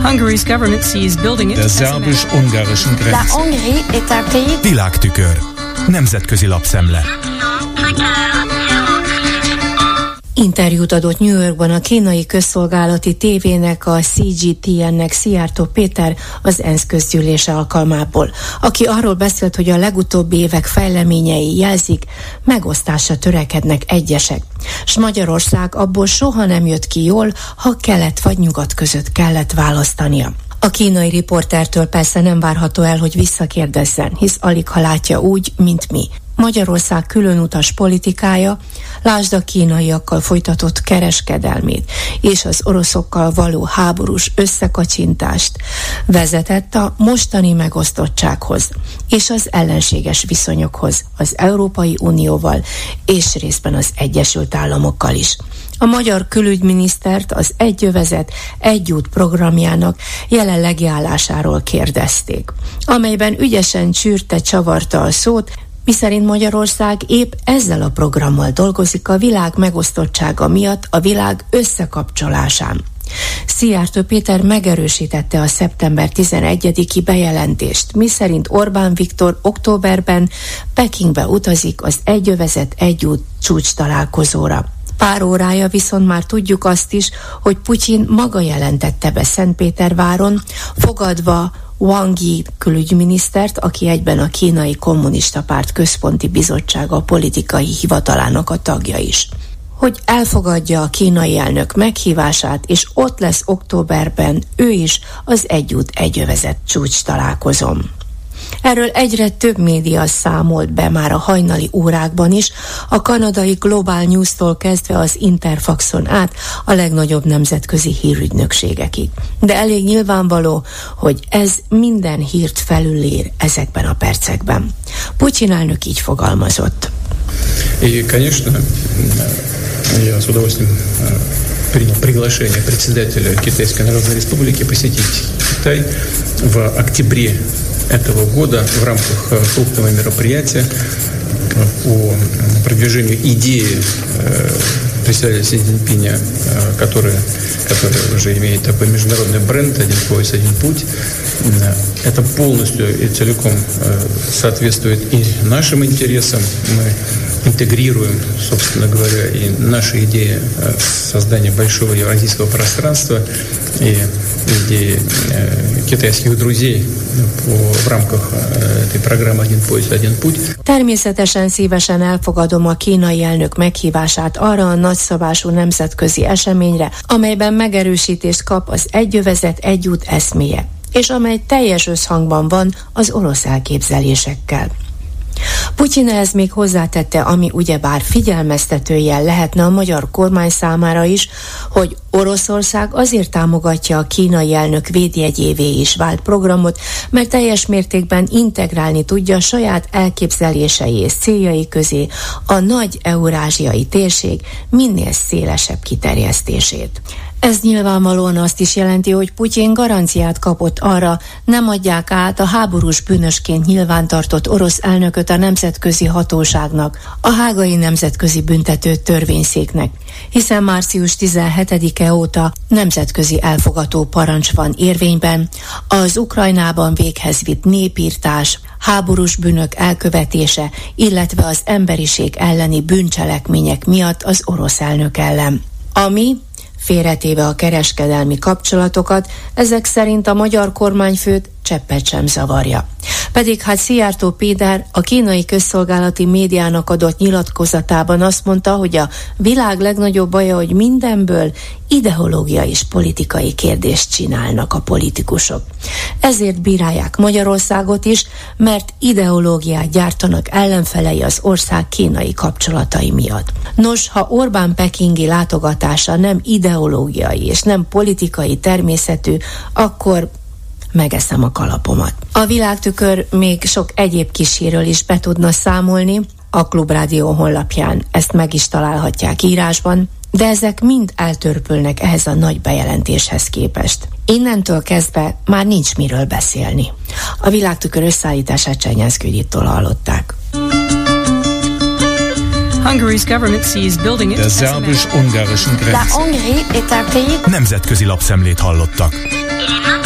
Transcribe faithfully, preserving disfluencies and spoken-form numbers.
Hungary's government sees building it. Der szerbus-ungarischen Grenze. La Hongrie est un pays. Világtükör. Nemzetközi lapszemle. Interjút adott New Yorkban a kínai közszolgálati tévének, a C G T N-nek Szijjártó Péter az ENSZ közgyűlése alkalmából, aki arról beszélt, hogy a legutóbbi évek fejleményei jelzik, megosztásra törekednek egyesek, s Magyarország abból soha nem jött ki jól, ha kelet vagy nyugat között kellett választania. A kínai riportertől persze nem várható el, hogy visszakérdezzen, hisz alig ha látja úgy, mint mi. Magyarország különutas politikája, lásd a kínaiakkal folytatott kereskedelmét és az oroszokkal való háborús összekacsintást vezetett a mostani megosztottsághoz és az ellenséges viszonyokhoz az Európai Unióval és részben az Egyesült Államokkal is. A magyar külügyminisztert az Egy övezet, egy út programjának jelenlegi állásáról kérdezték, amelyben ügyesen csűrte, csavarta a szót, miszerint Magyarország épp ezzel a programmal dolgozik a világ megosztottsága miatt a világ összekapcsolásán. Szijjártó Péter megerősítette a szeptember tizenegyediki bejelentést, miszerint Orbán Viktor októberben Pekingbe utazik az Egy övezet, egy út csúcs találkozóra. Pár órája viszont már tudjuk azt is, hogy Putyin maga jelentette be Szentpéterváron, fogadva Wang Yi külügyminisztert, aki egyben a Kínai Kommunista Párt Központi Bizottsága politikai hivatalának a tagja is, hogy elfogadja a kínai elnök meghívását, és ott lesz októberben ő is az Egy út, egy övezet csúcs találkozón. Erről egyre több média számolt be már a hajnali órákban is, a kanadai Global News-tól kezdve az Interfaxon át a legnagyobb nemzetközi hírügynökségekig. De elég nyilvánvaló, hogy ez minden hírt felülír ezekben a percekben. Putyin elnök így fogalmazott. И, конечно, я с удовольствием принял приглашение председателя Китайской Народной Республики посетить Китай в октябре этого года в рамках крупного мероприятия по продвижению идеи председателя Си Цзиньпиня, который, который уже имеет такой международный бренд «Один пояс, один путь». Это полностью и целиком соответствует и нашим интересам. Мы интегрируем, собственно говоря, и наши идеи создания большого евразийского пространства и идеи китайских друзей в рамках этой программы «Один пояс, один путь». Természetesen szívesen elfogadom a kínai elnök meghívását arra a nagyszabású nemzetközi eseményre, amelyben megerősítést kap az Egy övezet, egy út eszméje, és amely teljes összhangban van az orosz elképzelésekkel. Putyin ehhez még hozzátette, ami ugyebár figyelmeztetőjel lehetne a magyar kormány számára is, hogy Oroszország azért támogatja a kínai elnök védjegyévé is vált programot, mert teljes mértékben integrálni tudja a saját elképzelései és céljai közé a nagy eurázsiai térség minél szélesebb kiterjesztését. Ez nyilvánvalóan azt is jelenti, hogy Putyin garanciát kapott arra, nem adják át a háborús bűnösként nyilvántartott orosz elnököt a nemzetközi hatóságnak, a hágai nemzetközi büntető törvényszéknek, hiszen március tizenhetedike óta nemzetközi elfogató parancs van érvényben, az Ukrajnában véghez vitt népírtás, háborús bűnök elkövetése, illetve az emberiség elleni bűncselekmények miatt az orosz elnök ellen. Ami félretéve a kereskedelmi kapcsolatokat, ezek szerint a magyar kormányfőt cseppet sem zavarja. Pedig hát Szijjártó Péter a kínai közszolgálati médiának adott nyilatkozatában azt mondta, hogy a világ legnagyobb baja, hogy mindenből ideológiai és politikai kérdést csinálnak a politikusok. Ezért bírálják Magyarországot is, mert ideológiát gyártanak ellenfelei az ország kínai kapcsolatai miatt. Nos, ha Orbán pekingi látogatása nem ideológiai és nem politikai természetű, akkor megeszem a kalapomat. A Világtükör még sok egyéb kis hírről is be tudna számolni, a Klubrádió honlapján ezt meg is találhatják írásban, de ezek mind eltörpülnek ehhez a nagy bejelentéshez képest. Innentől kezdve már nincs miről beszélni. A Világtükör összeállítását Csernyánszky Judittól hallották. Hungary's government sees building it. Der szerbus-ungarischen La Grenze. Hongrie est un pays. Nemzetközi lapszemlét hallottak. Et les